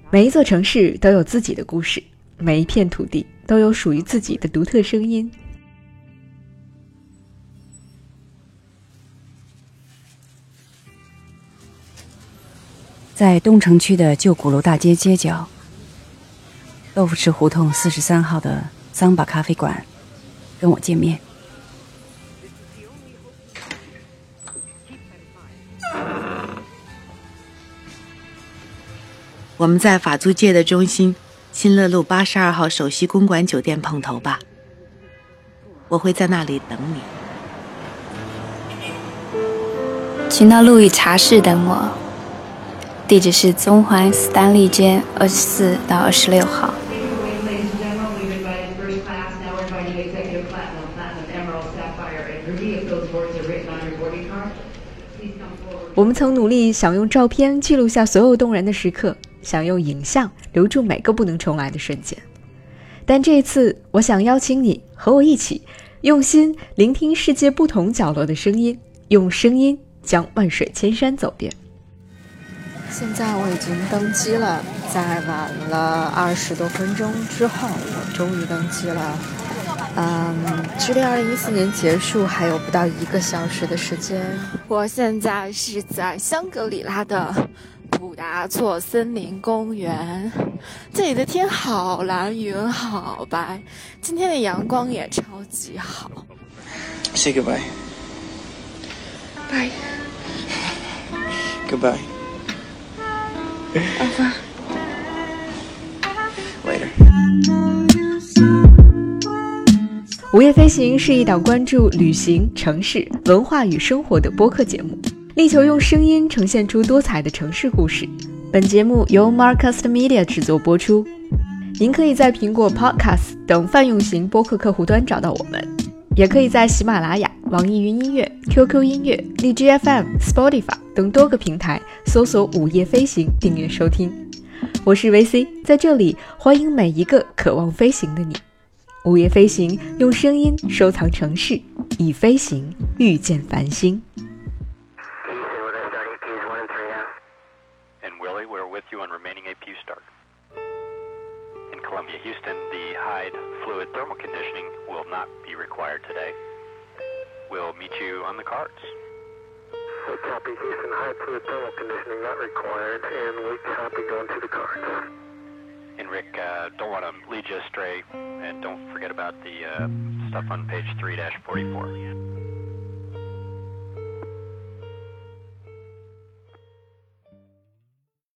每一座城市都有自己的故事，每一片土地都有属于自己的独特声音。 在东城区的旧鼓楼大街街角，豆腐池胡同43号的桑巴咖啡馆，跟我见面。 我们在法租界的中心新乐路82号首席公馆酒店碰头吧，我会在那里等你。 请到路易茶室等我，地址是中环斯丹利街24到26号。 我们曾努力想用照片记录下所有动人的时刻，想用影像留住每个不能重来的瞬间。但这一次，我想邀请你和我一起，用心聆听世界不同角落的声音，用声音将万水千山走遍。 现在我已经登机了，在晚了20多分钟之后，我终于登机了。距离2014年结束还有不到1个小时的时间。我现在是在香格里拉的普达措森林公园，这里的天好蓝，云好白，今天的阳光也超级好。 Say goodbye. Bye. Goodbye. Over. Later. 午夜飞行是一档关注旅行、城市、文化与生活的播客节目，力求用声音呈现出多彩的城市故事。本节目由 Marcast Media 制作播出。您可以在苹果 Podcast 等泛用型播客客户端找到我们，也可以在喜马拉雅、网易云音乐、QQ 音乐、荔枝 FM、Spotify 等多个平台搜索午夜飞行订阅收听。我是 VC， 在这里欢迎每一个渴望飞行的你。午夜飞行，用声音收藏城市，以飞行遇见繁星。 And Willie, we're with you on remaining APU start. In Columbia, Houston, the Hyde fluid thermal conditioning will not be required today. We'll meet you on the cards. Copy, Houston, Hyde fluid thermal conditioning not required, and we copy going to the cards. And Rick, don't want to lead you astray, and don't forget about the stuff on page 3-44.